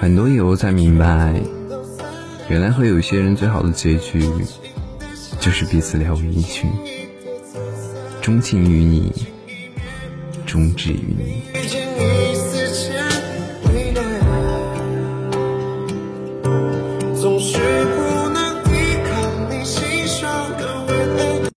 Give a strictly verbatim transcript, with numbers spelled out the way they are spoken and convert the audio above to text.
很多以后才明白，原来和有些人最好的结局就是彼此了无音讯，钟情于你，终止于你。 总是